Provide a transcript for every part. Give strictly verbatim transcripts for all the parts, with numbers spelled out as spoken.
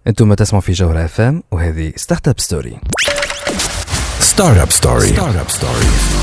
انتم تسمعوا في جوهرة اف ام وهذه ستارت اب ستوري. ستارت اب ستوري. ستارت اب ستوري.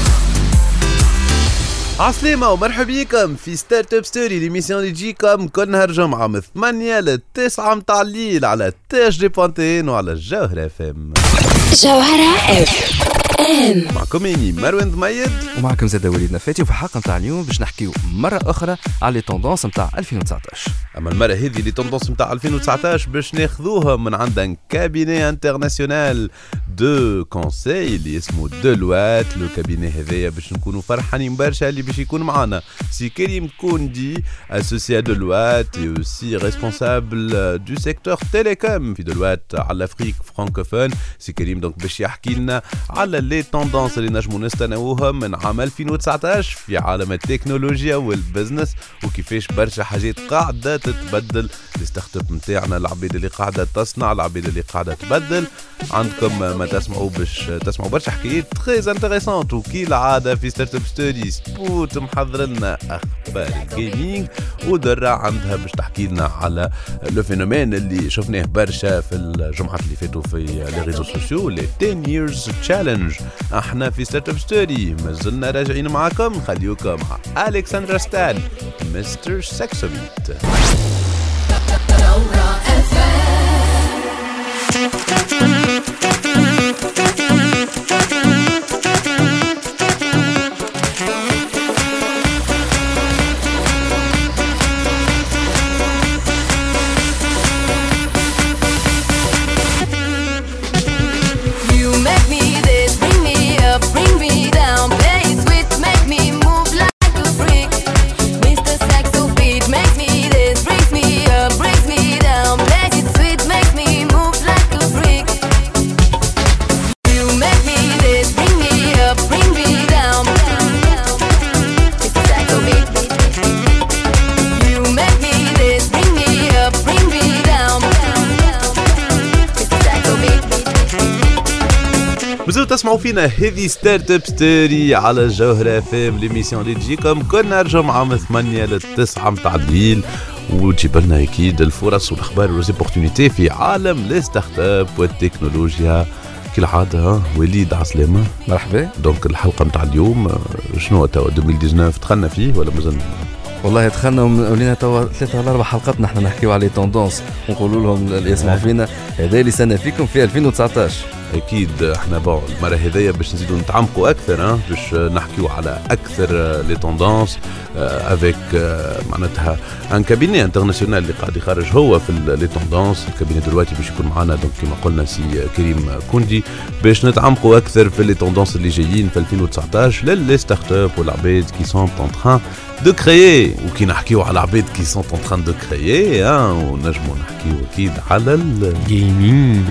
عسلامة ومرحبا بكم في ستارت اب ستوري، ليميسيون اللي تجيكم كل نهار جمعة من ثمانية للتسعة متاع الليل على تاج دي بوانتين وعلى الجوهرة اف ام. جوهرة اف ام معكم اني مروان ضميد ومعكم زاد وليد نفاتي، وفي الحلقة متاع اليوم باش نحكيو مرة أخرى على لي توندونس متاع ألفين وتسعطاش. اما المرة هذه لي توندونس متاع ألفين وتسعطاش باش ناخذوها من عند كابيني انترناسيونال دو كونساي اللي اسمه دلوات. لو كابيني هذايا باش نكونوا فرحانين برشا اللي باش يكون معنا سي كريم كوندي اسوسيا دلوات اي اوسي ريسبونسابل دو سيكتور تيليكوم في دلوات على افريك فرانكوفون. سي كريم دونك باش يحكي لنا على لي توندونس اللي نجموا نستناوهم من عام ألفين وتسعطاش في عالم التكنولوجيا والبزنس، وكيفاش برشا حاجات قاعده تتبدل. الستارت اب نتاعنا العبيد اللي قاعده تصنع، العبيد اللي قاعده تبدل. عندكم ما تسمعوا باش تسمعوا برشا حكايات تري انتريسونت، وكي العاده في ستارت اب ستوري سبوت محضر لنا اخبار الجيمنج، ودرا عندها باش تحكي لنا على لو فينومين اللي شفناه برشا في الجمعات اللي فاتوا في لي ريزو سوسيو، لي عشرة years challenge. احنا في ستارت اب ستوري مازلنا راجعين معاكم، نخليوكم مع الكسندرا ستان مستر سكسوبيت. تسمعوا فينا هذه ستارت اب ستوري على الجوهرة اف ام، ليميسيون اللي تجيكم كل نهار جمعة من ثمانية للتسعة متاع الليل، وتجيب لنا اكيد الفرص والاخبار والأوبورتونيتي في عالم الستارت اب والتكنولوجيا كالعادة. وليد عسلامة مرحبا. دونك الحلقة متاع اليوم شنو توا ألفين وتسعطاش دخلنا فيه ولا مازلنا؟ والله دخلنا ولينا توا ثلاثة ولا أربع حلقات نحن نحكيو على توندونس ونقولوا لهم اللي يسمعوا فينا هذا اللي سنة فيكم في ألفين وتسعطاش. اكيد احنا بون المره هذيا باش نزيدوا نتعمقوا اكثر، ها باش نحكيوا على اكثر لي توندونس افيك معناتها ان كابيني انترناسيونال اللي قاعد يخرج هو في لي توندونس. الكابيني دلوقتي باش يكون معنا دونك كما قلنا سي كريم كوندي باش نتعمقوا اكثر في لي توندونس اللي جايين في ألفين وتسعطاش للي ستارت اب والعباد كي سون اون تران دو كريي. وكي نحكيو على العباد كي سون اون تران دو كريي ها ونجموا نحكيو اكيد على الجيمنج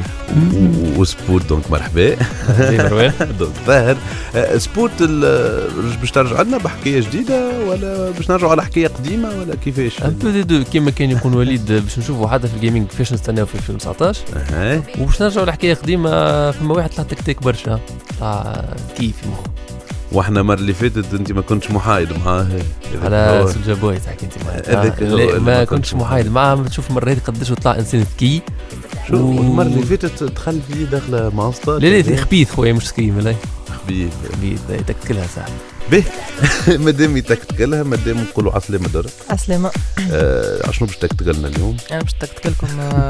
وسبورت. دونك مرحبا دونك ظاهر سبورت باش ترجع لنا بحكايه جديده ولا باش نرجعوا على حكايه قديمه ولا كيفاش؟ دو كيما كان يكون وليد باش نشوفوا حتى في الجيمنج كيفاش نستناو في ألفين وتسعطاش اها وباش نرجعوا لحكايه قديمه. فما واحد طلع تكتيك برشا تاع كيف في مخه. واحنا المره اللي فاتت انت ما كنتش محايد معاه على سولجا بوي تحكي انت معاه. ما كنتش محايد معاه. تشوف المره هذه قداش طلع انسان ذكي. شو المره اللي فاتت دخل فيه داخله ماستر. لا لا خبيث خويا مش سكي ملاي خبيث خبيث تكتكلها صح به مادام يتكتكلها مادام نقولوا عسلامة درك عسلامة. آه شنو باش تكتكلنا اليوم؟ انا باش تكتكلكم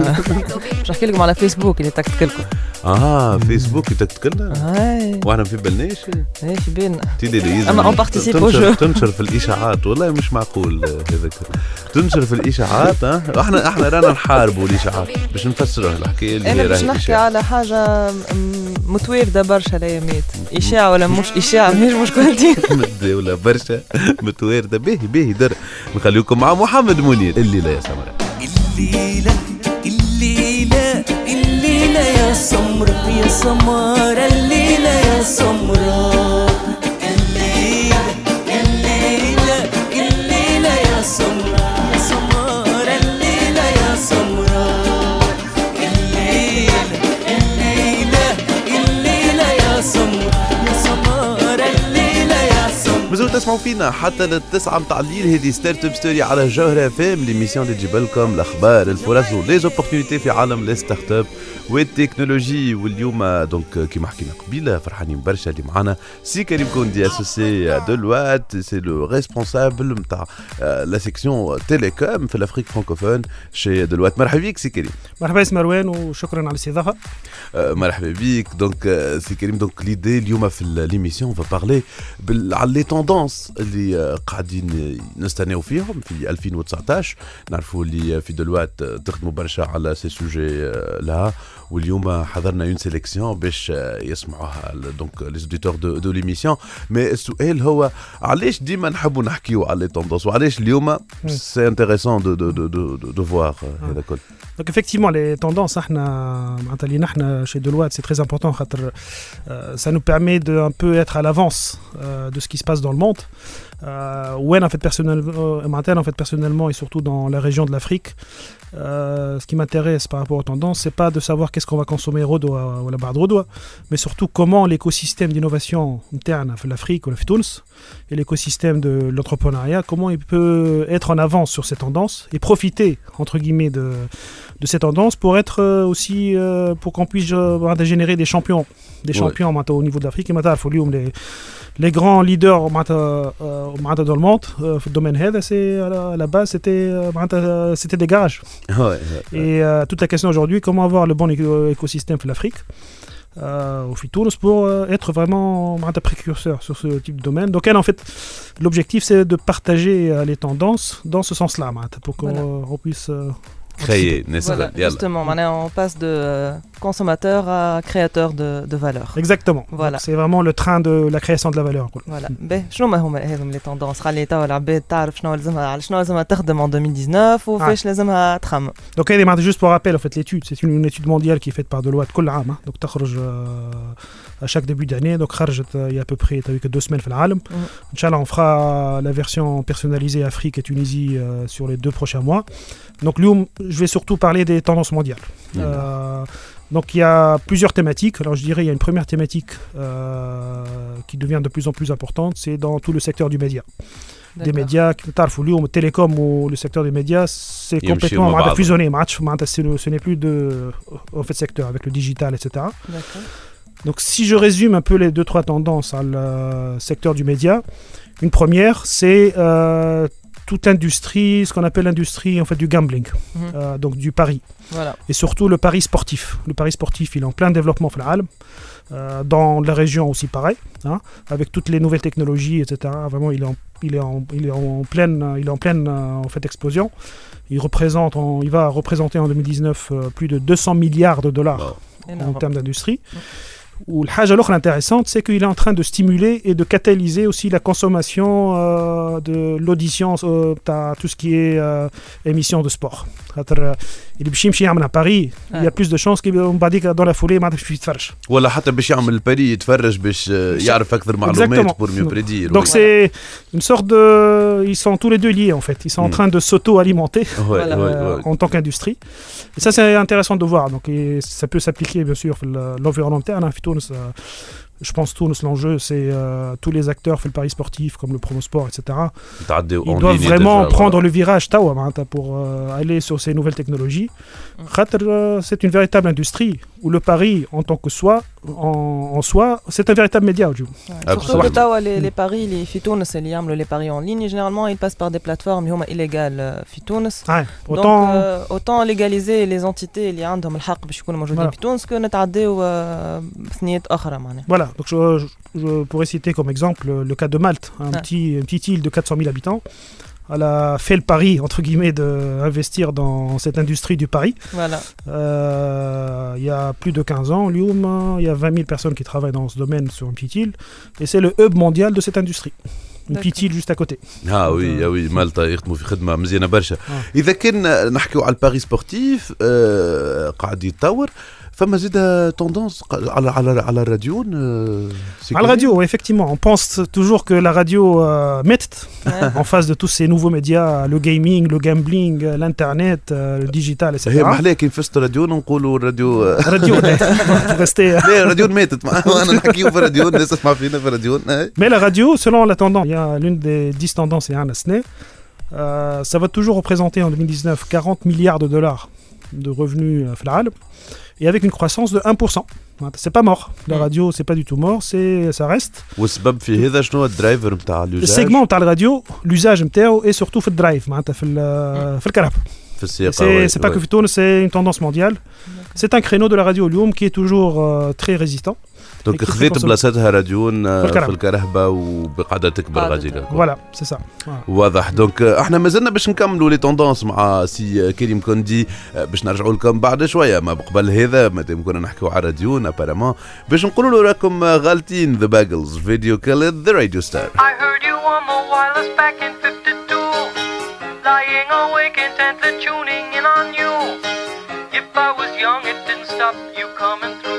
باش نحكي لكم على فيسبوك اللي تكتكلكم. اه فيسبوك يتكتكلنا هاي واحنا في بالناش ايش بينا تيلي اما اون بارتيسيب او جو تنشر في الاشاعات. والله مش معقول هذاك تنشر في الاشاعات. ها احنا احنا رانا نحاربوا الاشاعات باش نفسروا الحكايه اللي هي راهي. انا باش نحكي على حاجه متوارده برشا الايامات، اشاعه ولا مش اشاعه مش مشكلتي متداوله برشا متوارده. باهي باهي در نخليكم مع محمد منير. الليله يا سمره الليله الليله الليله يا سمره يا سمره الليله يا سمره الليله الليله الليله يا سمره يا سمره الليله يا سمره الليله الليله الليله يا سمره يا سمره الليله يا سمره. تسمعوا فينا حتى للتسعة متاع الليل. هذه ستارت اب ستوري على جوهرة فام، ليميسيون اللي تجيب لكم الاخبار الفرص وليزوبورتينيتي في عالم لي ستارت اب والتكنولوجي. واليوم دونك كيما حكينا قبيله فرحانين برشا اللي معنا سي كريم كوندي اسوسي دلوات، سي لو ريسبونسابل نتاع لا سيكسيون تيليكوم في الافريك فرانكوفون شي دلوات. مرحبا بك سي كريم. مرحبا اسم مروان وشكرا على الاستضافه. مرحبا بك. دونك سي كريم، دونك ليدي اليوم في ليميسيون فا بارلي على لي توندونس اللي قاعدين نستناو فيهم في ألفين وتسعطاش. نعرفوا اللي في دلوات تخدموا برشا على سي سوجي لها، واليوم حضرنا اون سيليكسيون باش يسمعوها دونك لي اوديتور دو دو ليميسيون. مي السؤال هو علاش ديما نحبوا نحكيو على لي توندونس وعلاش اليوم سي انتريسون دو دو دو دو دو فوار هذا كل. Donc effectivement les tendances احنا معناتها اللي نحنا chez Deloitte c'est très important خاطر ça nous permet de un peu être à l'avance euh, de ce qui se passe dans le monde. Euh, ouais, en fait personnellement, en fait personnellement et surtout dans la région de l'Afrique, euh, ce qui m'intéresse par rapport aux tendances, c'est pas de savoir qu'est-ce qu'on va consommer Rodoa ou la barre de Rodoa, mais surtout comment l'écosystème d'innovation interne de l'Afrique ou la Tunis et l'écosystème de l'entrepreneuriat, comment il peut être en avance sur ces tendances et profiter entre guillemets de de ces tendances pour être aussi euh, pour qu'on puisse euh, générer des champions, des champions ouais. Au niveau de l'Afrique. Et maintenant, il faut lui les les grands leaders euh, dans le monde euh, في الدومين هذا c'est à la base c'était euh, c'était des garages. Ouais, ouais, ouais. Et euh, toute la question aujourd'hui, comment avoir le bon écosystème pour l'Afrique euh, au Tunis pour euh, être vraiment un précurseur sur ce type de domaine. Donc elle, en fait, l'objectif c'est de partager euh, les tendances dans ce sens-là, pour qu'on voilà. on puisse euh, créer, voilà, justement, on passe de consommateur à créateur de, de valeur. Exactement. Voilà. C'est vraiment le train de la création de la valeur. Voilà. Ben, شنو ما هما هذم les tendances؟ خلي توا العباد تعرف شنو لازمها شنو لازمها تخدم en deux mille dix-neuf وفاش لازمها تخمم. Donc elle est juste pour rappel en fait l'étude, c'est une, une étude mondiale qui est faite par Deloitte كل عام. Hein. Donc تخرج à chaque début d'année. Donc خرجت il y a à peu près t'as vu que deux semaines في العالم. Mm. Inch'Allah on fera la version personnalisée Afrique et Tunisie euh, sur les deux prochains mois. Donc Lyoum, je vais surtout parler des tendances mondiales. Mmh. Euh, donc il y a plusieurs thématiques. Alors je dirais il y a une première thématique euh, qui devient de plus en plus importante, c'est dans tout le secteur du média. D'accord. Des médias, le télécom ou le secteur des médias, c'est il complètement fusionné. Ce n'est plus de en fait, secteur avec le digital, et cetera. D'accord. Donc si je résume un peu les deux, trois tendances à le secteur du média, une première, c'est euh, toute l'industrie, ce qu'on appelle l'industrie en fait du gambling, mmh. euh, donc du pari. Voilà. Et surtout le pari sportif. Le pari sportif, il est en plein développement euh, dans la région aussi pareil, hein, avec toutes les nouvelles technologies, et cetera. Vraiment, il est en, il est en, il est en pleine, il est en pleine en fait explosion. Il représente, en, il va représenter en deux mille dix-neuf euh, plus de deux cents milliards de dollars wow. en termes d'industrie. Mmh. Ou l'autre chose intéressante, c'est qu'il est en train de stimuler et de catalyser aussi la consommation euh, de l'audition, euh, tout ce qui est euh, émission de sport. Il à Paris, il y a plus de chances qu'il dans la foulée, il يتفرج. ولا حتى باش يعمل الباري يتفرج باش يعرف أكثر معلومات pour mieux prédire. Donc c'est une sorte de, ils sont tous les deux liés en fait. Ils sont en train de s'auto-alimenter en tant qu'industrie. Et ça c'est intéressant de voir. Donc et ça peut s'appliquer bien sûr l'environnement interne. Je pense que l'enjeu, c'est euh, tous les acteurs fait le pari sportif, comme le promosport, et cetera. Ils doivent vraiment déjà, prendre voilà. le virage pour euh, aller sur ces nouvelles technologies. Mm. C'est une véritable industrie où le pari en tant que soi, en, en soi, c'est un véritable média. Ouais. Surtout que tawa, les, les paris, les fitounes, c'est les paris en ligne. Généralement, ils passent par des plateformes illégales fitounes. Ouais. Donc, autant... Euh, autant légaliser les entités qui ont le haq باش يكونوا موجودين fitounes que نتعداو بثنيات أخرى معناها. Voilà. Donc je, je, je pourrais citer comme exemple le, le cas de Malte, un ah. petit, une petite île de quatre cent mille habitants. Elle a fait le pari, entre guillemets, d'investir dans cette industrie du pari. Voilà. Euh, il y a plus de quinze ans, Lyoum, il y a vingt mille personnes qui travaillent dans ce domaine sur une petite île. Et c'est le hub mondial de cette industrie. Une petite île juste à côté. Ah oui, ah oui, Malta يخدموا في خدمة مزيانة برشا. إذا كان نحكيو على الباري سبورتيف قاعد يتطور فما زيد tendance على على على الراديو. على الراديو effectivement on pense toujours que la radio euh, méthode en face de tous ces nouveaux médias, le gaming, le gambling, l'internet, le digital et cetera. هي محلاه كي نفست الراديو نقولوا الراديو راديو ريستي لا الراديو ماتت انا نحكيو في الراديو الناس تسمع فينا في الراديو. Mais la radio selon la tendance, il y a l'une des dix tendances et un asné. Euh, ça va toujours représenter en deux mille dix-neuf quarante milliards de dollars de revenus في العالم et avec une croissance de un pour cent. C'est pas mort. La radio, c'est pas du tout mort, c'est ça reste. والسبب في هذا شنو الدرايفر نتاع اليوزاج؟ السيجمون نتاع الراديو l'usage نتاعو et surtout في الدرايف معناتها في في الكهرباء. في السياقة. C'est c'est pas que في تونس, c'est une tendance mondiale. C'est un créneau de la radio اليوم qui est toujours euh, très résistant. دونك خذيت بلاصتها راديون في الكرهبه وبقاعده تكبر غاديكا. فوالا سي سا واضح. دونك احنا مازلنا باش نكملوا لي توندونس مع سي كريم كوندي باش نرجعوا لكم بعد شويه. ما قبل هذا مادام كنا نحكيو على راديون ابارامون باش نقولوا له راكم غالطين. ذا باجلز فيديو كيل ذا راديو ستار. I heard you on the wireless back in fifty-two, lying awake intently tuning in on you. If I was young it didn't stop you coming through.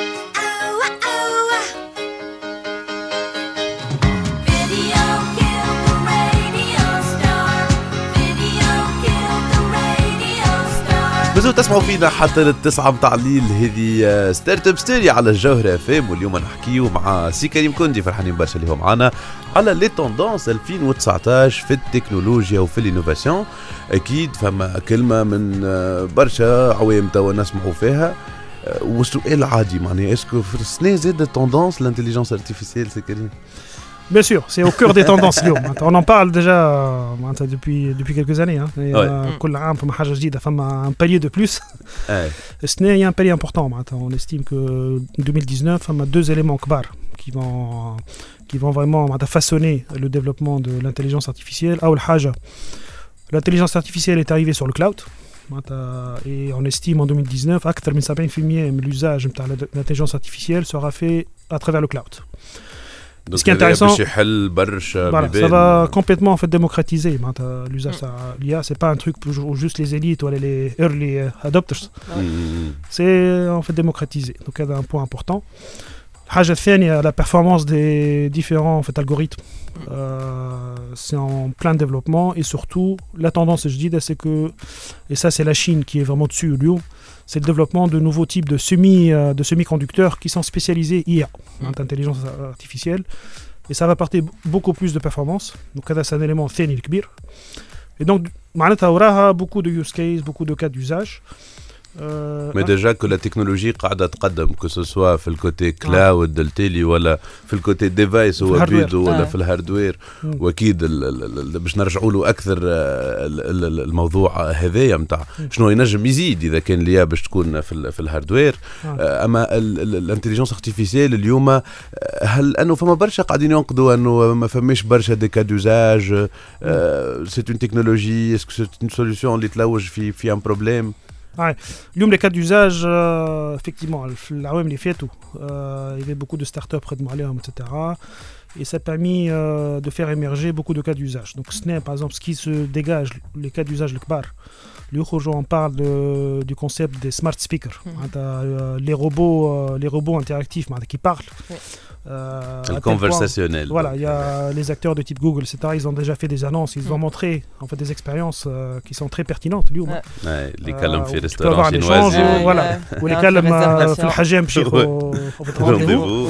مازلتوا تسمعوا فينا حتى للتسعة متاع الليل. هذه ستارت اب ستوري على الجوهرة فام واليوم نحكيو مع سي كريم كوندي. فرحانين برشا اللي هو معانا على لي توندونس ألفين وتسعطاش في التكنولوجيا وفي الانوفاسيون. اكيد فما كلمة من برشا عوام توا نسمعوا فيها والسؤال عادي معناها اسكو في السنة زاد توندونس لانتيليجنس ارتيفيسيال سي كريم؟ Bien sûr, c'est au cœur des tendances. On en parle déjà depuis, depuis quelques années. Hein. Et, ouais. euh, un palier de plus. Ouais. Ce n'est un palier important. On estime que deux mille dix-neuf, il y a deux éléments kbar qui vont, qui vont vraiment façonner le développement de l'intelligence artificielle. L'intelligence artificielle est arrivée sur le cloud. Et on estime en deux mille dix-neuf que l'usage de l'intelligence artificielle sera fait à travers le cloud. Donc, ce qui est intéressant, voilà, ça va complètement en fait démocratiser l'usage de l'I A. C'est pas un truc pour juste les élites ou les early adopters. Mm. C'est en fait démocratisé. Donc il y a un point important. Il y a la performance des différents en fait, algorithmes. Euh, c'est en plein développement et surtout la tendance, je dis, c'est que et ça c'est la Chine qui est vraiment dessus, Lyon. C'est le développement de nouveaux types de, semi, de semi-conducteurs qui sont spécialisés I A, mmh. intelligence artificielle, et ça va apporter beaucoup plus de performance. Donc c'est un élément ثاني كبير. Et donc معناتها وراها beaucoup de use cases, beaucoup de cas d'usage. Euh, Mais déjà que la technologie قاعدة تقدم que ce soit في الكوتي كلاود دلتيلي ولا في الكوتي ديفايس هو بيدو ولا في الهاردوير. واكيد باش نرجعوا له اكثر الموضوع هذايا نتاع شنو ينجم يزيد اذا كان ليا باش تكون في في الهاردوير. اما الانتيليجنس ارتيفيسيال اليوم هل انه فما برشا قاعدين ينقدوا انه ما فماش برشا دي كا دوزاج سي اون تكنولوجي اسكو سي اون سوليوشن اللي تلوج في في ان بروبليم؟ Ouais. L'une des cas d'usage, euh, effectivement, l'A O M les fait tout. Euh, il y avait beaucoup de startups près de Montréal, et cetera. Et ça a permis euh, de faire émerger beaucoup de cas d'usage. Donc, ce n'est par exemple ce qui se dégage, les cas d'usage le kbar. Aujourd'hui, on parle de, du concept des smart speakers. Mmh. Euh, les robots, euh, les robots interactifs qui parlent. Oui. Euh, le conversationnel. Voilà, il y a les acteurs de type Google, et cetera. Ils ont déjà fait des annonces, ils mmh. ont montré en fait des expériences euh, qui sont très pertinentes. Ouais. Ouais, les calmes في restaurant chinois. Voilà. Ou les calmes في الحجام chez rendez-vous.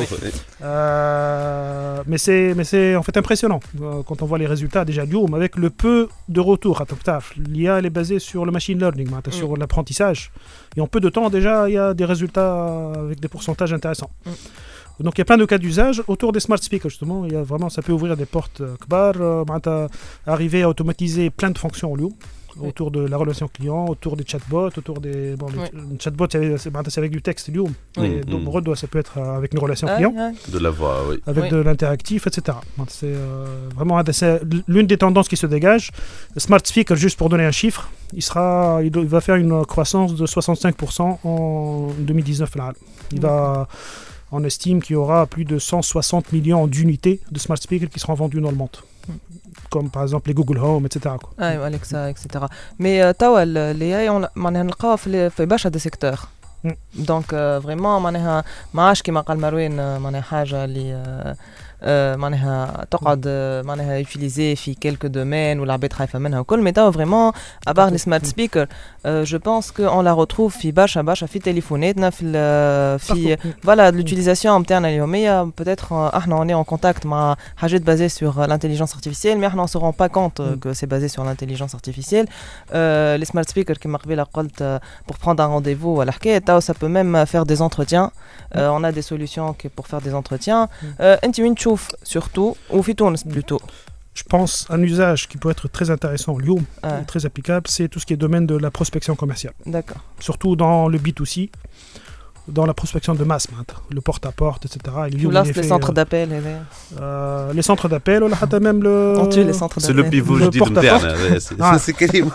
Mais c'est mais c'est en fait impressionnant quand on voit les résultats déjà du home avec le peu de retour. L'I A elle est basée sur le machine learning, mmh. sur l'apprentissage. Et en peu de temps déjà il y a des résultats avec des pourcentages intéressants. Mmh. Donc il y a plein de cas d'usage autour des smart speakers justement. Il y a vraiment ça peut ouvrir des portes kbar, euh, arriver à automatiser plein de fonctions au lieu. Oui. Autour de la relation client, autour des chatbots, autour des bon, oui. le chatbot c'est avec du texte lieu, oui. et donc mmh. ça peut être avec une relation client, ah, ah. de la voix, oui. avec oui. de l'interactif, et cetera. C'est euh, vraiment c'est l'une des tendances qui se dégage. Le smart speaker, juste pour donner un chiffre, il sera, il, il va faire une croissance de soixante-cinq pour cent en deux mille dix-neuf. Là. Il mmh. va On estime qu'il y aura plus de cent soixante millions d'unités de smart speakers qui seront vendues dans le monde. Comme par exemple les Google Home, et cetera. Oui, Alexa, et cetera. Mais euh, l'A I, on a نلقاها في برشا des secteurs. دونك فريمون معناها ما عادش كيما قال مروان معناها حاجه اللي معناها تقعد معناها يوتيليزي في كيلكو دومين والعباد خايفه منها وكل مي توا فريمون ابار لي سمارت سبيكر جو بونس كو اون لا روتروف في برشا برشا في تليفوناتنا في في فوالا لوتيليزاسيون نتاعنا اليوميه بوتيتر احنا اوني اون كونتاكت مع حاجات بازي سور لانتيليجنس ارتيفيسيال مي احنا اون سو رون با كونت كو سي بازي سور لانتيليجنس ارتيفيسيال لي سمارت سبيكر كيما قبيله قلت بور prendre un rendez-vous ولا حكايه توا ça peut même faire des entretiens on a des solutions pour faire des entretiens انت وين تشوف surtout ou في تونس plutôt. Je pense un usage qui peut être très intéressant, Lyon, ah. très applicable, c'est tout ce qui est domaine de la prospection commerciale. D'accord. Surtout dans le B deux C, dans la prospection de masse, le porte-à-porte, et cetera. Et Lyon, là, c'est les centres d'appel. Euh, les centres d'appel, on a même le... On tue les centres d'appel. C'est le pivot, je dis, de c'est Karim.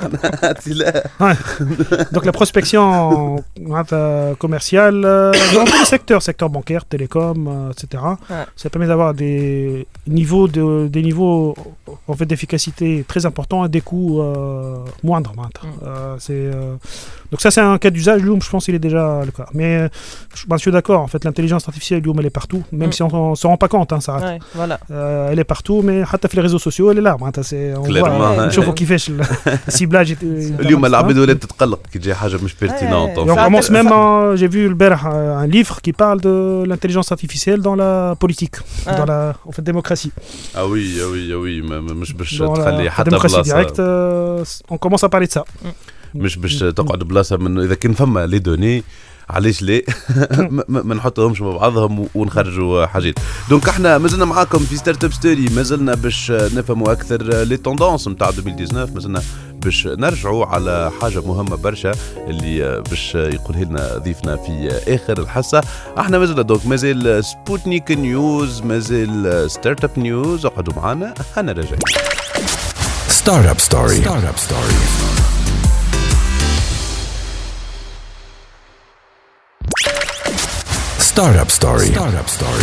Donc la prospection commerciale, dans tous les secteurs, secteur bancaire, télécom, et cetera. Ouais. Ça permet d'avoir des niveaux, de, des niveaux en fait, d'efficacité très importants et des coûts euh, moindres. Mm. Euh, c'est, euh... Donc ça, c'est un cas d'usage. Loom, je pense qu'il est déjà le cas. Mais je, ben, je suis d'accord. En fait, l'intelligence artificielle, Loom, elle est partout. Même mm. si on ne se rend pas compte, hein, ça. Ouais, voilà. euh, elle est partout, mais حتى les réseaux sociaux, elle est là. On voit. نشوفوا كيفاش السيبلاج. اليوم العباد ولات تتقلق كي تجي حاجة مش pertinente. On commence même. J'ai vu le berh un livre qui parle de l'intelligence artificielle dans la politique, ah. dans la en fait démocratie. Ah oui, ah oui, ah oui. مش باش تخلي حتى بلاصة. Direct, on commence à parler de ça. مش باش تقعد بلاصة من إذا كان فما لي دوني علاش ليه ما نحطهمش مع بعضهم ونخرجوا حاجات. دونك احنا مازلنا معاكم في ستارت اب ستوري، مازلنا باش نفهموا اكثر لي توندونس نتاع ألفين وتسعطاش، مازلنا باش نرجعوا على حاجه مهمه برشا اللي باش يقولها لنا ضيفنا في اخر الحصه. احنا مازلنا دونك مازال سبوتنيك نيوز، مازال ستارت اب نيوز، اقعدوا معنا انا راجع. ستارت اب ستوري. ستارت اب ستوري. Startup Story. Startup Story.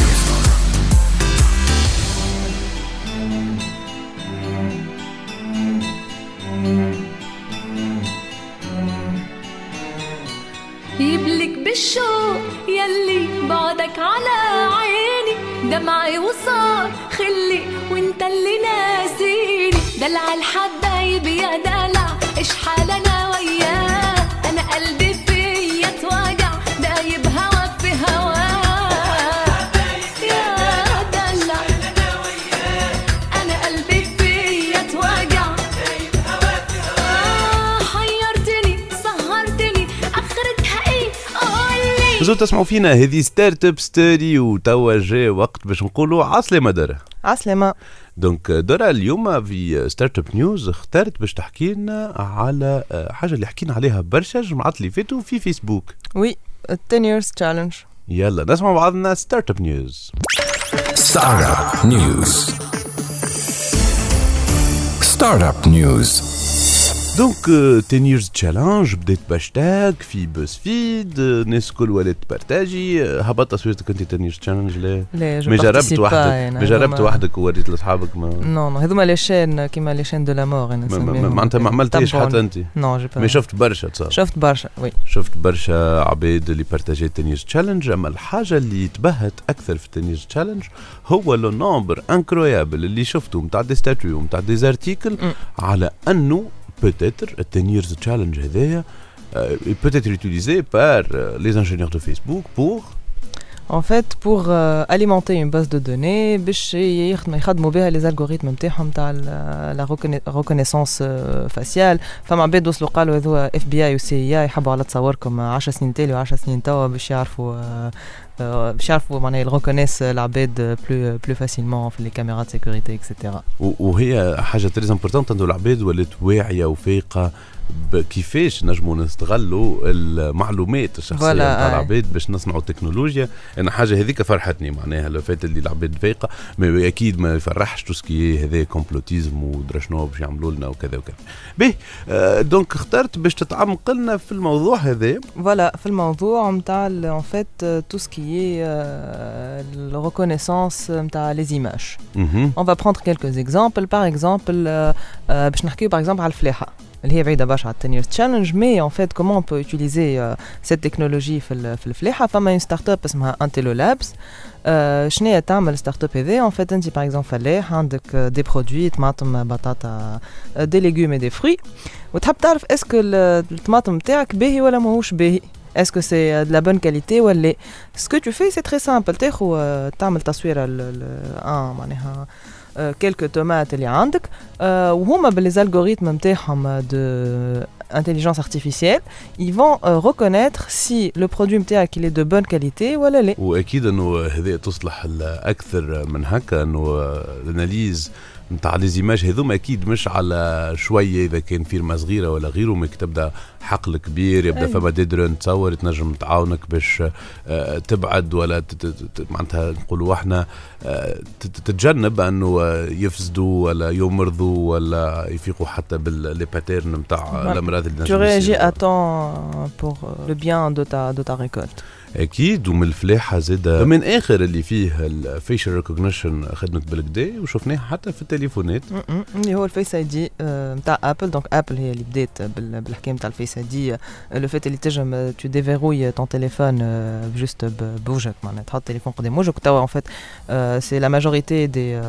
يبلك بالشوق يلي بعدك على عيني، دمعي وصار خلي وانت اللي ناسيني، دلع الحبايب يا دلع ايش حالنا وياه، انا قلبي فيا توجع دايب هوا في هوا. زود تسمعوا فينا هذه ستارت اب ستوري، وتوا جاء وقت باش نقولوا عسلامة درة. عسلامة. دونك درة اليوم في ستارت اب نيوز اخترت باش تحكي لنا على حاجة اللي حكينا عليها برشا الجمعات اللي فاتوا في فيسبوك. وي ten years challenge. يلا نسمع بعضنا ستارت اب نيوز. ستارت اب نيوز. ستارت اب نيوز. دونك ten years challenge بديت باشتاج في بوز فيد، الناس كل ولات بارتاجي. هبطت تصويرتك انت ten years challenge؟ لا لا ما جربت وحدك، ما جربت وحدك ووريت لاصحابك؟ ما نو نو هذوما لي شين كيما لي شين دو لا مور انا نسميهم. معناتها ما عملتيش حتى انت؟ نو جو ما شفت برشا تصور. شفت برشا وي شفت برشا عباد اللي بارتاجيت ten years challenge. اما الحاجه اللي تبهت اكثر في ten years challenge هو لو نومبر انكرويابل اللي شفته نتاع دي ستاتيو نتاع دي زارتيكل على انه peut-être le ten years challenge هذايا euh, peut être utilisé par euh, les ingénieurs de Facebook pour en fait pour euh, alimenter une base de données باش يخدموا بها les algorithmes نتاعهم تاع la reconnaissance faciale. فما عباد وصلوا قالوا هذو إف بي آي و سي آي يحبوا على تصوركم عشر سنين تالي و عشر سنين توا باش يعرفوا باش يعرفوا معناها يريكونيس العباد بلو بلو فاسيلمون في لي كاميرا دو سيكوريتي اكسيتيرا. وهي حاجه تري امبورطونت انه العباد ولات واعيه وفايقه كيفاش نجموا نستغلوا المعلومات الشخصيه نتاع العباد باش نصنعوا تكنولوجيا. انا حاجه هذيك فرحتني معناها لو فات اللي العباد فايقه، ما اكيد ما يفرحش توسكي هذا كومبلوتيزم ودرشنو باش يعملوا لنا وكذا وكذا. باهي آه دونك اخترت باش تتعمق لنا في الموضوع هذا. فوالا في الموضوع نتاع ان فيت توسكي la reconnaissance نتاع les images. On va prendre quelques exemples. Par exemple باش نحكيو par exemple على الفلاحه اللي هي بعيده برشا على التنير تشالنج. مي ان فيت كومون بو يوتيليزي سيت تكنولوجي في في الفلاحه. فما اون ستارت اب اسمها انتيلو لابس. آه شنو تعمل ستارت اب هذه؟ ان فيت انت باغ اكزومبل فلاح عندك دي برودوي طماطم بطاطا دي ليغوم اي دي فروي، وتحب تعرف اسكو الطماطم نتاعك باهي ولا ماهوش باهي، est-ce que c'est de la bonne qualité ou elle est. Ce que tu fais c'est très simple. تاخذ تعمل تصويره ل اه معناها quelques tomates اللي عندك وهما باللي الغوريثم نتاعهم de intelligence artificielle ils vont euh, reconnaître si le produit نتاعك il est de bonne qualité ولا لا. واكيد انه هذه تصلح اكثر من هكا، انه الاناليز نتاع لي زيماج هذوما اكيد مش على شويه اذا كان فيرما صغيره ولا غيره، مك تبدا حقل كبير يبدا أي. فما ديدرون تصور تنجم تعاونك باش تبعد ولا معناتها نقولوا احنا تتجنب انه يفسدوا ولا يمرضوا ولا يفيقوا حتى باللي باترن نتاع الامراض اللي نجم. Tu réagis à temps pour le bien de ta de ta récolte. اكيد. ومن الفلاحه زاد من اخر اللي فيه الفيشل ريكوجنيشن خدمت بالكدا وشفناها حتى في التليفونات اللي هو الفيس اي دي نتاع ابل. دونك ابل هي اللي بدات بالحكايه نتاع الفيس اي دي، لو فيت اللي تنجم تو ديفيروي طون تيليفون جوست بوجهك، معناتها تحط التليفون قدام وجهك. توا ان فيت سي لا ماجوريتي دي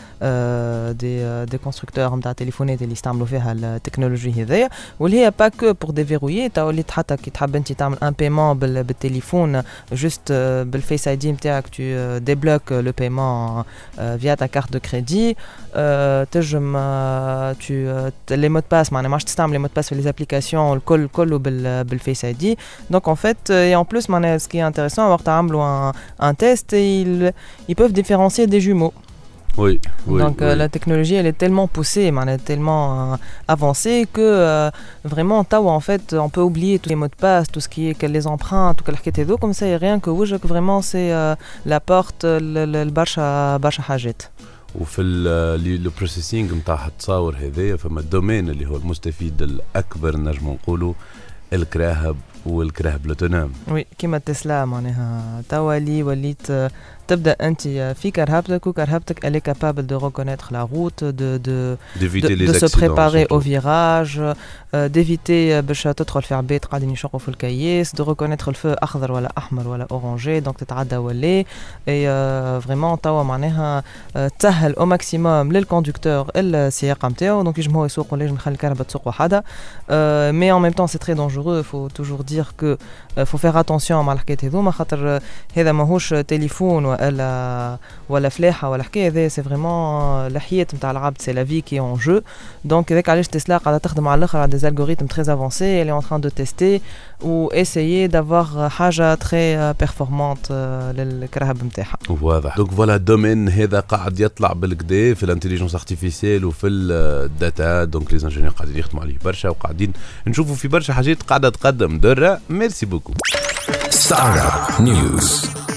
دي دي كونستركتور نتاع تليفونات اللي يستعملوا فيها التكنولوجي هذيا، واللي هي با كو بور ديفيروي. توا اللي حتى كي تحب انت تعمل ان بايمون بالتليفون جوست بالفيس اي دي نتاعك تو ديبلوك لو بايمون فيا تا كارت دو كريدي. تنجم تو لي مود باس معناها ماش تستعمل لي مود باس في لي ابليكاسيون الكل كله بالفيس اي دي. دونك ان فيت اي ان بلوس معناها سكي انتريسون وقت عملوا ان تيست ils peuvent différencier des jumeaux. Oui, oui, donc oui. Euh, la technologie elle est tellement poussée, tellement euh, avancée que euh, vraiment tawa en fait on peut oublier tous les mots de passe, tout ce qui est que les empreintes, tout quelque chose comme ça, et rien que وجهك vraiment c'est euh, la porte البرشا برشا حاجات. وفي لو بروسيسينغ نتاع التصاور هذايا فما الدومين اللي هو المستفيد الاكبر نجم نقولوا الكراهب والكراهب لوتونوم. وي كيما تسلا معناها توا لي وليت تبدا انت في كرهبتك وكرهبتك elle est capable de reconnaître la route, de de d'éviter de, les de se préparer surtout. au virage, euh, d'éviter باش تدخل في عباد قاعدين يشقوا في الكياس، de reconnaître الفو اخضر ولا احمر ولا اورانجي دونك تتعدى ولا اي فريمون توا معناها تسهل او ماكسيموم للكوندكتور السياقه نتاعو، دونك يجم هو يسوق ولا يجم يخلي الكهرباء تسوق وحدها. مي en même temps c'est très dangereux, il faut toujours dire que faut faire attention مع الحكايات هذوما خاطر هذا ماهوش تليفون ولا ولا فلاحه ولا حكايه، هذا سي فريمون الحياه نتاع العبد، سي لا في كي اون جو. دونك هذاك علاش تسلا قاعده تخدم على الاخر على دي الغوريثم تري افونسي اللي اون تران دو تيستي و اسيي دافوار حاجه تري بيرفورمانت للكرهب نتاعها. واضح. دونك فوالا الدومين هذا قاعد يطلع بالكدا في الانتيليجنس ارتيفيسيال وفي الداتا، دونك لي انجينيور قاعدين يخدموا عليه برشا وقاعدين نشوفوا في برشا حاجات قاعده تقدم. درة ميرسي بوكو. Startup News.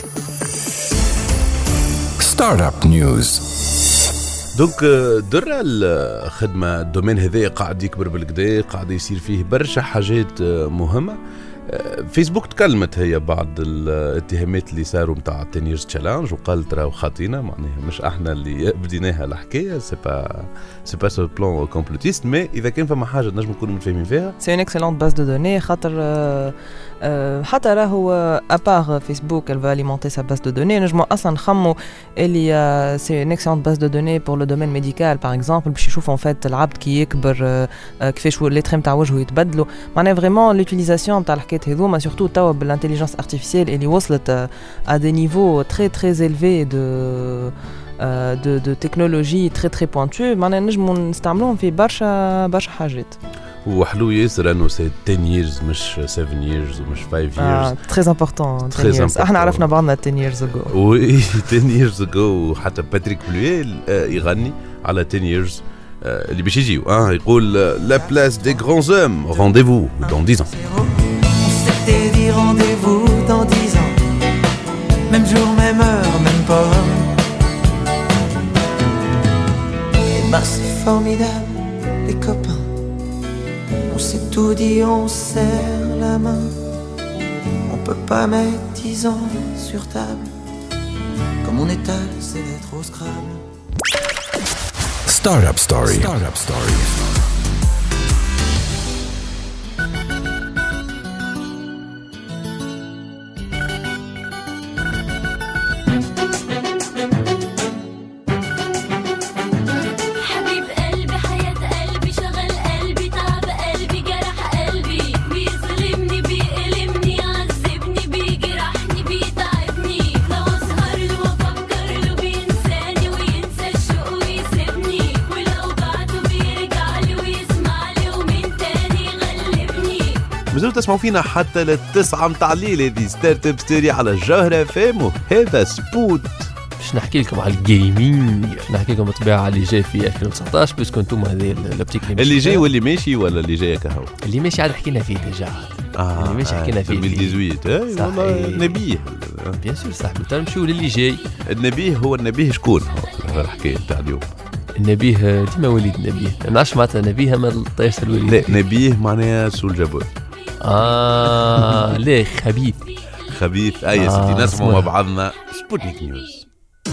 Startup News. دونك درة الخدمة الدومين هذا قاعد يكبر بالكدا، قاعد يصير فيه برشا حاجات مهمة. فيسبوك تكلمت هي بعض الاتهامات اللي صاروا متاع ten years challenge وقالت راهو خاطينا، معناها مش احنا اللي بديناها الحكايه، سي با سي با سو بلان كومبلوتيست. مي اذا كان فما حاجه نجم نكونوا متفاهمين فيها سي اون اكسلونت باز دو دوني خاطر حتى راهو ابار فيسبوك elle va alimenter sa base de données. نجموا اصلا نخموا اللي سي اون اكسلونت باز دو دوني بور لو دومين ميديكال باغ اكزومبل باش يشوفوا ان فيت العبد كي يكبر كيفاش لي تريم تاع وجهه يتبدلوا، معناها فريمون لوتيليزاسيون تاع الحكايات هذوما سورتو توا بالانتيليجنس ارتيفيسيال اللي وصلت à des niveaux très très élevés de de de technologie très très pointue، معناها نجموا نستعملوهم في برشا برشا حاجات. وحلو ياسر انه سي ten years مش seven years ومش five years. اه très important. très important. احنا عرفنا بعضنا ten years ago. وي ten years ago. وحتى باتريك بلويل يغني على ten years اللي باش يجيو. اه يقول لا بلاس دي غرانز هوم رونديفو dans dix ans. T'es dit rendez-vous dans dix ans, même jour, même heure, même pas. Et ben c'est formidable, les copains. On s'est tout dit, on serre la main. On peut pas mettre dix ans sur table. Comme on étale, c'est d'être au Scrabble. Startup Story. Startup Story. تسمعوا فينا حتى للتسعة متاع الليل. هذه ستارت اب ستوري على الجوهرة فامو. هذا سبوت باش نحكي لكم على الجيمنج، باش نحكي لكم بالطبيعه اللي جاي في ألفين وتسعطاش باش كنتم هذه اللابتيك اللي جاي واللي ماشي ولا اللي جاي كهو اللي ماشي عاد حكينا فيه ديجا. آه اللي ماشي حكينا فيه ألفين وثمانية عشر. اي والله نبيه بيان سور صاحبي. نمشيو للي جاي. النبيه هو النبيه شكون هو الحكايه تاع اليوم؟ النبيه ديما وليد النبيه. ما نعرفش معناتها نبيه ما طيش الوليد. لا نبيه معناها سول جابوي. اه ليه خبيث خبيث. اي آه سيدي نسمعوا مع بعضنا سبوتنيك نيوز.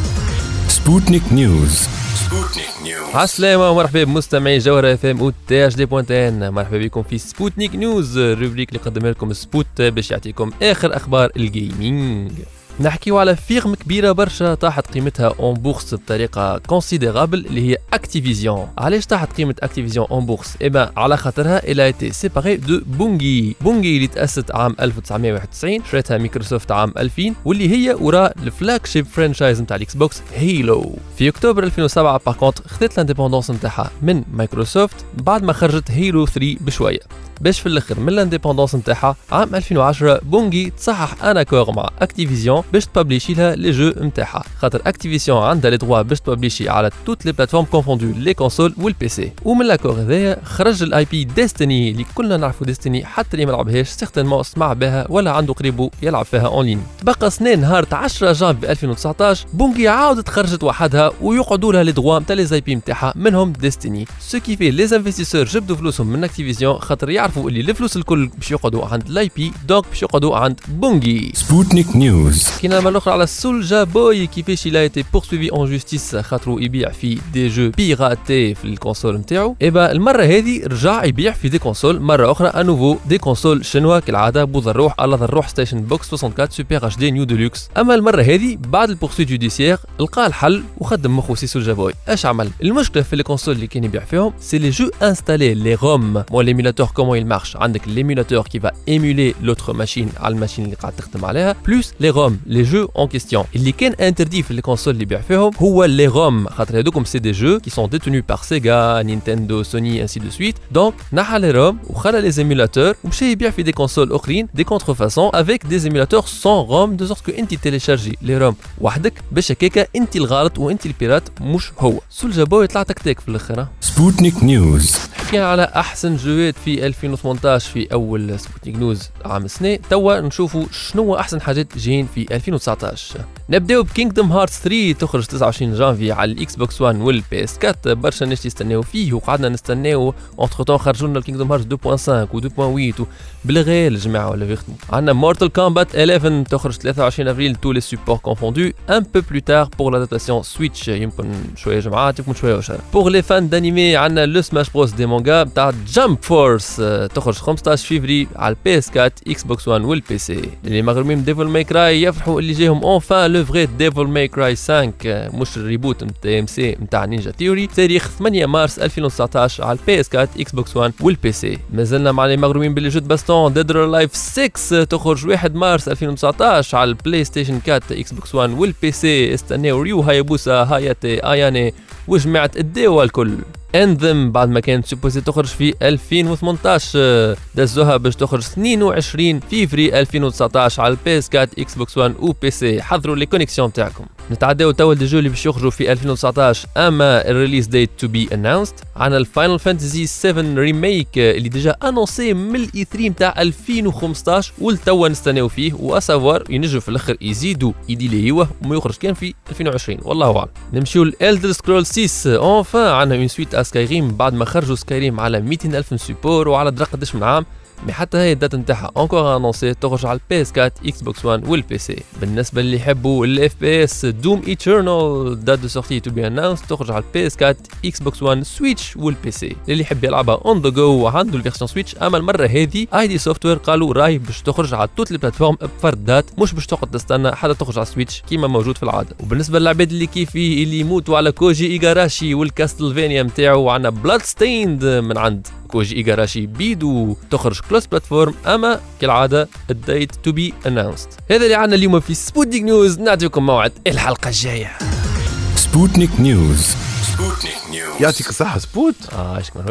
سبوتنيك نيوز. سبوتنيك نيوز. عسلامة ومرحبا بمستمعي جوهرة اف ام و تي اش دي بوينت ان. مرحبا بكم في سبوتنيك نيوز، الروبريك اللي قدمها لكم سبوت باش يعطيكم اخر اخبار الجيمنج. نحكيو على فيرم كبيرة برشا طاحت قيمتها اون بورس بطريقة كونسيديرابل اللي هي اكتيفيزيون. علاش طاحت قيمة اكتيفيزيون اون بورس؟ إبا على خاطرها إلا ايتي سيباري دو بونجي. بونجي اللي تأسست عام ألف وتسعمائة وواحد وتسعين، شريتها مايكروسوفت عام ألفين، واللي هي وراء الفلاج شيب فرانشايز نتاع الاكس بوكس هيلو. في اكتوبر ألفين وسبعة باغ كونتر خذت لانديبوندونس نتاعها من مايكروسوفت بعد ما خرجت هيلو ثلاثة بشوية، باش في الاخر من لانديبوندونس نتاعها عام ألفين وعشرة بونجي تصحح ان اكور مع اكتيفيزيون باش تبابليشي لها لي جو نتاعها، خاطر اكتيفيزيون عندها لي دروا باش تبابليشي على توت لي بلاتفورم كونفوندو لي كونسول والبي سي. ومن الاكور هذايا خرج الاي بي ديستني اللي كلنا نعرفوا ديستني، حتى اللي ما لعبهاش سيغتينمون سمع بها ولا عنده قريبو يلعب فيها اون لين. تبقى سنين نهار عشرة جانفي ألفين وتسعطاش بونجي عاودت خرجت وحدها ويقعدوا لها لي دروا نتاع لي زي بي نتاعها منهم ديستني، سو كي في لي انفستيسور جبدوا فلوسهم من اكتيفيزيون خاطر يعرفوا اللي الفلوس الكل باش يقعدوا عند لاي بي، دونك باش يقعدوا عند بونجي. سبوتنيك نيوز. كينا مره اخرى على سولجا بوي كيفاش إلا ايتي بورسويفي اون جوستيس خاطرو يبيع في دي جو بيراتي في الكونسول نتاعو. ايبا المره هذه رجع يبيع في دي كونسول مره اخرى انوفو دي كونسول شنوا كالعاده بوذا الروح على الروح ستيشن بوكس أربعة وستين سوبر اتش دي نيو ديلوكس. اما المره هذه بعد البورسويت جوديسيير لقى الحل وخدم مخو سي سولجا بوي. اش عمل؟ المشكله في لي كونسول اللي كان يبيع فيهم سي لي جو انستالي لي روم مو ليميلاتور كومون يل مارش. عندك l'émulateur qui va émuler l'autre machine على الماشين اللي قاعد تخدم عليها بلوس لي روم لي جو اون كيستيون. اللي كان انتردي في الكونسول اللي بيع فيهم هو لي روم، خاطر هذوكم سي دي جو qui sont détenus par Sega, Nintendo, Sony ainsi de suite. donc نحى لي روم وخلى لي émulateurs ومشى يبيع في دي كونسول اخرين دي contrefaçons avec des émulateurs sans ROM de sorte que انت تيليشارجي لي روم وحدك باش هكاكا انت الغلط وانت البيرات مش هو. سولجا بوي طلع تكتيك في الاخر. سبوتنيك نيوز. حكينا على احسن جوات في ألفين وثمانطاش في اول سبوتنيك نيوز عام السنة. توا نشوفوا شنو احسن حاجات جايين في ألفين وتسعطاش. نبداو بكينغدوم هارتس ثلاثة تخرج تسعة وعشرين جانفي على الاكس بوكس واحد والبي اس أربعة. برشا ناس يستناو فيه وقعدنا نستناو اونتر طون خرجوا لنا الكينغدوم هارتس اثنين فاصلة خمسة و اثنين فاصلة ثمانية بالغير الجماعه ولا يخدموا. عندنا مورتال كومبات إحدى عشر تخرج ثلاثة وعشرين افريل تو لي سوبور كونفوندو ان بو بلو تار بور لادابتاسيون سويتش. يمكن شويه جماعات يمكن شويه وشر. بور لي فان دانيمي عندنا لو سماش بروس دي مانجا تاع جامب فورس تخرج خمسطاش فيفري على البي اس أربعة اكس بوكس واحد والبي سي. اللي مغرومين ديفل ماي كراي يفرحوا اللي جاهم اونفان لو فري ديفل ماي كراي خمسة مش الريبوت نتاع ام سي نتاع نينجا ثيوري، تاريخ ثمانية مارس ألفين وتسعطاش على البي اس أربعة اكس بوكس واحد والبي سي. مازلنا مع اللي مغرومين باللي جو باستون ديد اور لايف ستة تخرج واحد مارس ألفين وتسعطاش على البلاي ستيشن أربعة اكس بوكس واحد والبي سي. استناو ريو هايبوسا هاياتي اياني وجماعه الديوا الكل. انذم بعد ما كانت سوبوزي تخرج في ألفين وثمانطاش دزوها باش تخرج اثنين وعشرين فيفري ألفين وتسعطاش على البي اس أربعة اكس بوكس واحد و بي سي. حضروا لي كونيكسيون تاعكم. نتعداو توا دي جو اللي باش يخرجوا في ألفين وتسعطاش. اما الريليز ديت تو بي اناونسد عندنا الفاينل فانتسي سبعة ريميك اللي ديجا انونسي من الاي ثلاثة نتاع ألفين وخمسطاش والتوا نستناو فيه واسافوار ينجوا في الاخر يزيدوا يديليوه وما يخرج كان في ألفين وعشرين والله اعلم. نمشيو لإلدر سكرول ستة اونفان عندنا اون سويت سكايريم بعد ما خرجوا سكايريم على مئتين ألف سيبور وعلى درا قداش من عام، مي حتى هي الدات نتاعها انكور انونسي تخرج على البي اس أربعة اكس بوكس واحد والبي سي. بالنسبه اللي يحبوا الاف بي اس دوم ايترنال دات دو سورتي تو بي اناونس تخرج على البي اس أربعة اكس بوكس واحد سويتش والبي سي. اللي يحب يلعبها اون ذا جو وعنده الفيرسيون سويتش. اما المره هذه اي دي سوفتوير قالوا راهي باش تخرج على توت لي بلاتفورم بفرد دات، مش باش تقعد تستنى حتى تخرج على السويتش كيما موجود في العاده. وبالنسبه للعباد اللي كيفي اللي يموتوا على كوجي ايغاراشي والكاستلفينيا نتاعو عندنا بلاد ستيند من عند كوجي إيغاراشي بيدو تخرج كلوس بلاتفورم. اما كالعاده الديت تو بي اناونسد. هذا اللي عندنا اليوم في سبوتنيك نيوز. نعطيكم موعد الحلقه الجايه. سبوتنيك نيوز. سبوتنيك نيوز. يعطيك الصحه سبوت. اه ايش كمان وين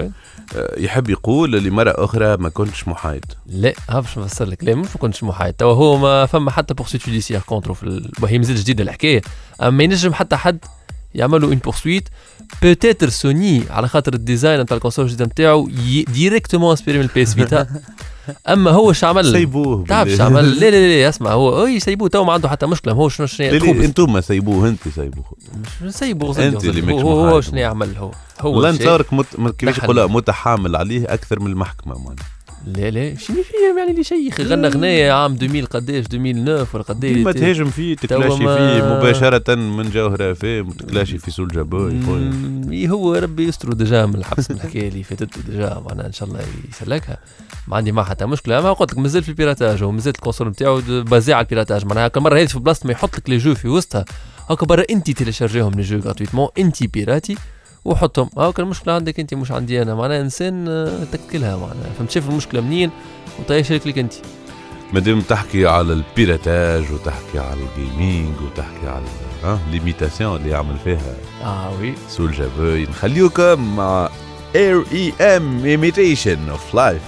يحب يقول لمرة أخرى ما كنتش محايد. لا ها باش نفسر لك. لا مش ما كنتش محايد. توا هو ما فما حتى بورسويت جوديسيير كونترو في ال... هي مازال جديده الحكايه. اما ينجم حتى حد يعملوا اون بورسويت بوتيتر سوني على خاطر الديزاين نتاع الكونسول الجديد نتاعو ديريكتومون انسبيري من البي اس فيتا. اما هو اش عمل سيبوه تعرفش عمل لا لا لا اسمع هو اي سيبوه تو ما عنده حتى مشكله. هو شنو شنو انتم سيبوه انت سيبوه مش سيبوه انت اللي هو, هو, هو شنو يعمل هو هو لا نصارك مت... كيفاش يقولها متحامل عليه اكثر من المحكمه مان. لا لا شنو فيه يعني لي شيخ غنى غنايه عام ألفين قداش ألفين وتسعة ولا قداش ما تهاجم فيه تكلاشي فيه مباشره من جوهره فيه تكلاشي في سول جابوي. هو ربي يستر ديجا من الحبس من الحكايه اللي فاتت ديجا معناها ان شاء الله يسلكها. ما عندي ما حتى مشكله. ما قلت لك مازال في البيراتاج ومازال الكونسول نتاعو بازي على البيراتاج. معناها كل مره هذه في بلاصه ما يحط لك لي جو في وسطها هاكا برا انت تيليشارجيهم لي جو غراتويتمون انت بيراتي وحطهم. هاكا المشكله عندك انت مش عندي انا. معناها انسان تكلها معناها فهمت شايف المشكله منين وطيش لك انت. مادام تحكي على البيراتاج وتحكي على الجيمنج وتحكي على ها ليميتاسيون اللي يعمل فيها اه وي سول جابوي نخليوكم مع اير اي ام imitation of life.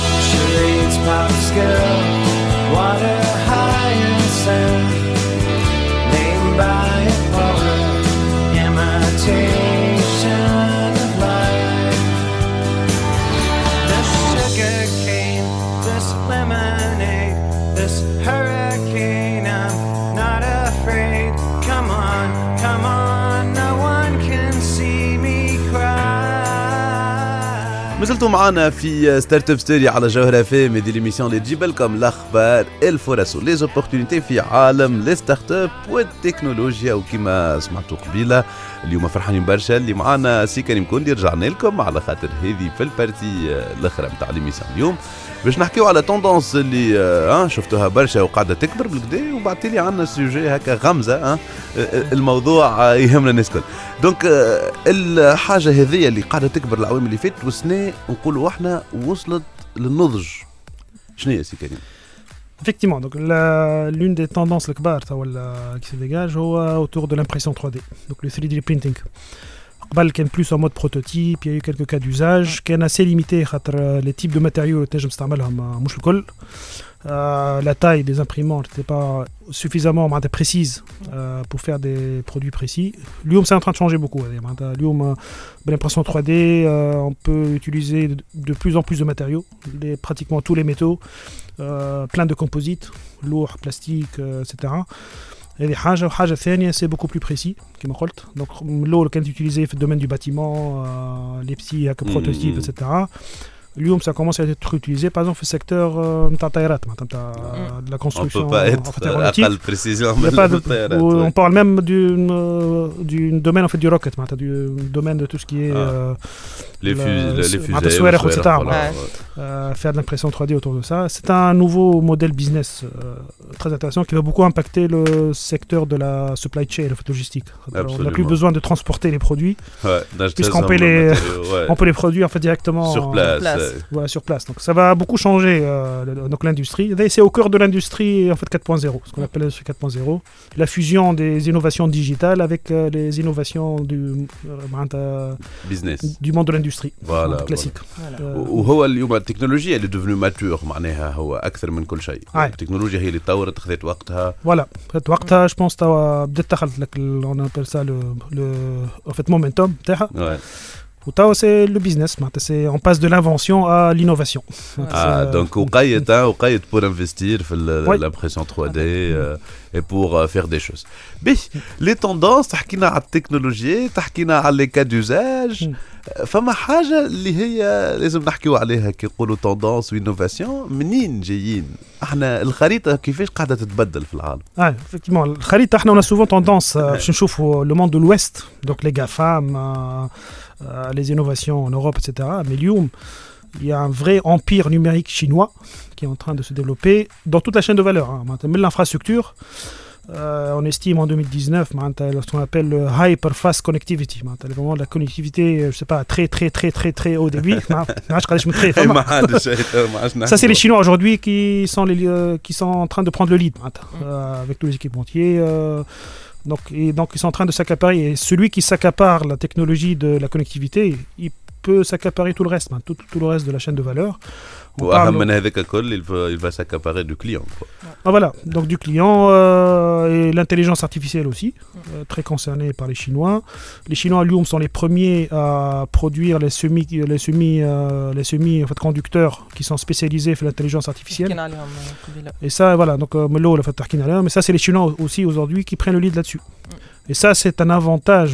مازلتوا معنا في ستارت اب ستوري على جوهرة فام. هذه ليميسيون اللي تجيب لكم الاخبار الفرص ولي زوبورتونيتي في عالم لي ستارت اب والتكنولوجيا. وكما سمعتوا قبيله اليوم فرحانين برشا اللي معنا سي كريم كوندي. رجعنا لكم على خاطر هذه في البارتي الاخرى نتاع ليميسيون اليوم باش نحكيو على توندونس اللي اه شفتوها برشا وقاعده تكبر بالكدا. وبعد لي عندنا سوجي هكا غمزه اه الموضوع يهمنا الناس الكل. دونك الحاجه هذه اللي قاعده تكبر العوام اللي فاتت وسنه نقولوا احنا وصلت للنضج. شنو هي سي كريم؟ Effectivement, donc la, l'une des tendances qui se dégage est autour de l'impression trois D, donc le three D printing. قبل كان plus en mode prototype, il y a eu quelques cas d'usage, كان assez limité خاطر les types de matériaux اللي تنجم تستعملهم مش الكل. Euh, la taille des imprimantes n'était pas suffisamment précise euh, pour faire des produits précis. L'U M c'est en train de changer beaucoup. L'U M, l'impression trois D, euh, on peut utiliser de, de plus en plus de matériaux, les, pratiquement tous les métaux, euh, plein de composites, lourds, plastiques, euh, et cetera. Et les haja, haja thania, c'est beaucoup plus précis, comme je l'ai dit. Donc l'eau qui est utilisé dans le domaine du bâtiment, euh, les petits prototypes, et cetera. اليوم ça commence à être utilisé par exemple في السيكتور نتاع الطائرات نتاع de la construction. On peut pas être أقل précision من الطائرات. On parle même du du domaine en fait du rocket du domaine de tout ce qui est les fusées et cetera. Faire de l'impression trois D autour de ça, c'est un nouveau modèle business très intéressant qui va beaucoup impacter le secteur de la supply chain, la logistique. On n'a plus besoin de transporter les produits puisqu'on peut les on peut les produire en fait directement sur place. Ouais, sur place. Donc ça va beaucoup changer euh, donc l'industrie. C'est au cœur de l'industrie en fait quatre point zéro, ce qu'on appelle l'industrie quatre point zéro, la fusion des innovations digitales avec euh, les innovations du euh, business, du monde de l'industrie. Voilà, classique. وهو اليوم التكنولوجيا اللي devenue mature معناها هو أكثر من كل شيء. التكنولوجيا هي اللي تطورت خذت وقتها. Voilà, خذت وقتها. Je pense توا بدأت دخلت لك on appelle ça le le en fait momentum تاعها. وتاو سي لو بيزنس معناتها سي اون باس دو لانفونسيون ا لينوفاسيون. اه دونك وقيت وقيت بور انفستير في الامبريسيون ثري دي اي بور فير دي شوز. بي لي توندونس تحكينا على التكنولوجيا تحكينا على لي كا دوزاج. فما حاجه اللي هي لازم نحكيو عليها كي نقولوا توندونس وانوفاسيون منين جايين احنا الخريطه كيفاش قاعده تتبدل في العالم. اه effectivement الخريطه احنا on a souvent tendance باش نشوفوا لو موند دو l'ouest donc les GAFAM Euh, les innovations en Europe, et cetera. Mais اليوم, il y a un vrai empire numérique chinois qui est en train de se développer dans toute la chaîne de valeur. Hein. Même l'infrastructure, euh, on estime en deux mille dix-neuf ce qu'on appelle le hyper-fast connectivity. Vraiment la connectivité, je sais pas, très très très très très haut débit. Ça, c'est les Chinois aujourd'hui qui sont, les, euh, qui sont en train de prendre le lead euh, avec tous les équipementiers. Euh, Donc, et donc, ils sont en train de s'accaparer. Et celui qui s'accapare la technologie de la connectivité, il peut s'accaparer tout le reste, hein, tout, tout le reste de la chaîne de valeur. واهم من هذاك الكل il va il va s'accaparer du client quoi. Ah, voilà, donc du client euh, et l'intelligence artificielle aussi, euh, très concernée par les Chinois. Les Chinois à Lyon sont les premiers à produire les semi les semi euh, les semi en fait, conducteurs qui sont spécialisés dans l'intelligence artificielle. Et ça voilà, donc euh, mais ça c'est les Chinois aussi aujourd'hui qui prennent le lead là-dessus. Et ça, c'est un avantage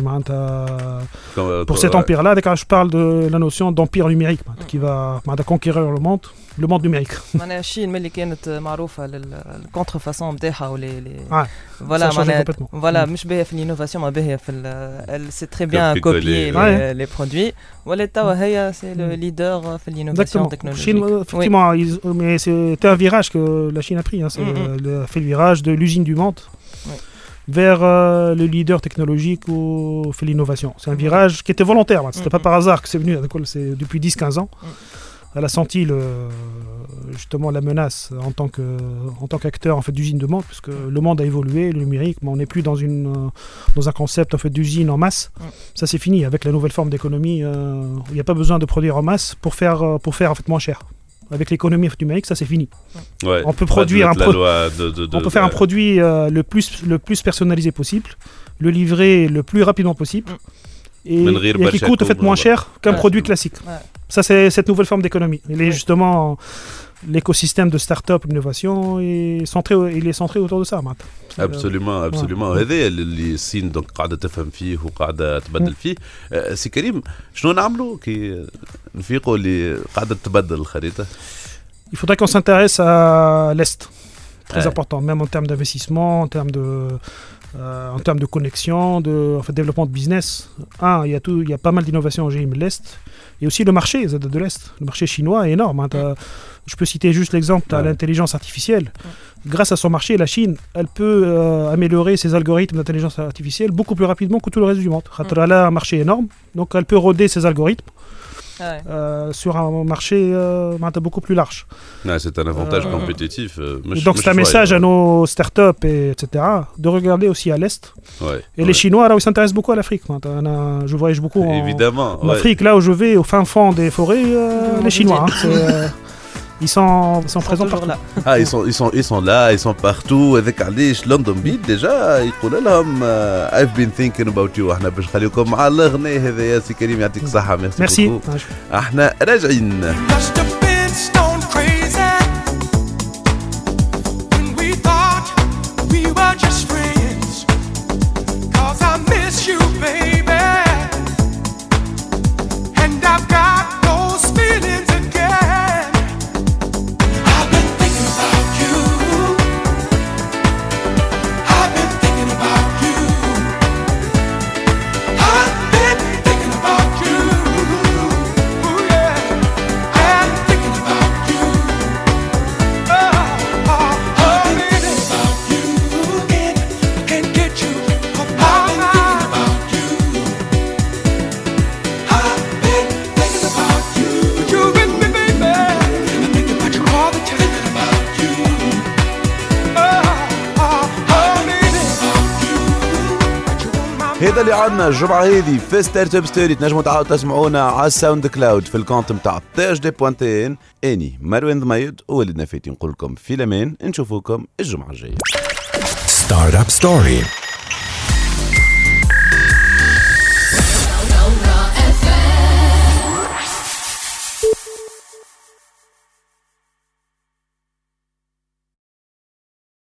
euh, pour cet empire-là. Quand je parle de la notion d'empire numérique qui va conquérir le monde, le monde numérique. La Chine, mais qui est معروفة للcontrefaçon بتاعها ou les voilà, voilà, مش باهية في l'innovation, mais باهية في elle sait très bien copier les, les produits. Voilà, Tawa Heya, c'est le leader في l'innovation technologique. Chine, effectivement, ils, mais c'était un virage que la Chine a pris. Hein, c'est mm-hmm. le, fait le virage de l'usine du monde. Oui. vers euh, le leader technologique ou fait l'innovation. C'est un virage qui était volontaire. C'était mm-hmm. pas par hasard que c'est venu. C'est depuis dix quinze ans. Mm-hmm. Elle a senti le, justement la menace en tant que en tant qu'acteur en fait d'usine de monde, parce que le monde a évolué, le numérique, mais on n'est plus dans une dans un concept en fait d'usine en masse. Mm-hmm. Ça c'est fini avec la nouvelle forme d'économie. Euh, il n'y a pas besoin de produire en masse pour faire pour faire en fait moins cher. Avec l'économie numérique, ça c'est fini. Ouais, on peut produire un pro- de, de, de, on peut faire ouais. un produit euh, le plus le plus personnalisé possible, le livrer le plus rapidement possible, et, et qui coûte en fait moins cher qu'un ouais. produit classique. Ouais. Ça c'est cette nouvelle forme d'économie. Il est ouais. justement l'écosystème de start-up, l'innovation, est centré, il est centré autour de ça maintenant. Absolument, absolument. هذا اللي الصين دونك قاعدة تفهم فيه وقاعدة تبدل فيه. سي كريم شنو نعملوا كي نفيقوا اللي قاعدة تبدل الخريطة؟ Il faudrait qu'on s'intéresse à l'Est. Très ouais. important, même en termes d'investissement, en termes de Euh, en termes de connexion, de en fait, développement de business. Un, il y a tout, il y a pas mal d'innovations en G I M de l'Est, et aussi le marché de l'Est. Le marché chinois est énorme. Hein. Je peux citer juste l'exemple de ouais. l'intelligence artificielle. Ouais. Grâce à son marché, la Chine, elle peut euh, améliorer ses algorithmes d'intelligence artificielle beaucoup plus rapidement que tout le reste du monde. Ouais. Elle a un marché énorme, donc elle peut roder ses algorithmes. Ouais. Euh, sur un marché euh, beaucoup plus large. Ouais, c'est un avantage euh, compétitif. Euh, mèche, donc c'est un message à nos startups, et, etc. de regarder aussi à l'Est. Ouais, et ouais. les Chinois, là, ils s'intéressent beaucoup à l'Afrique. Je voyage beaucoup en, Évidemment, en ouais. Afrique. Là où je vais, au fin fond des forêts, euh, les Chinois. Hein, euh, ils sont, ils sont présents partout. Là. Ah, ils sont, ils sont, ils sont là, ils sont partout. Avec Alish, London Beat, déjà, ils disent لهم I've been thinking about you. احنا باش نخليكم مع الأغنية هذا يا سي كريم يعطيك الصحة. Merci. احنا راجعين. هذا اللي عندنا الجمعة هذه في ستارت اب ستوري. تنجموا تعاودوا تسمعونا على الساوند كلاود في الكونت نتاع تي اش دي بوانتين. اني مروان ضميد ووليد نفاتي نقول لكم في الامان، نشوفوكم الجمعة الجاية. ستارت اب ستوري.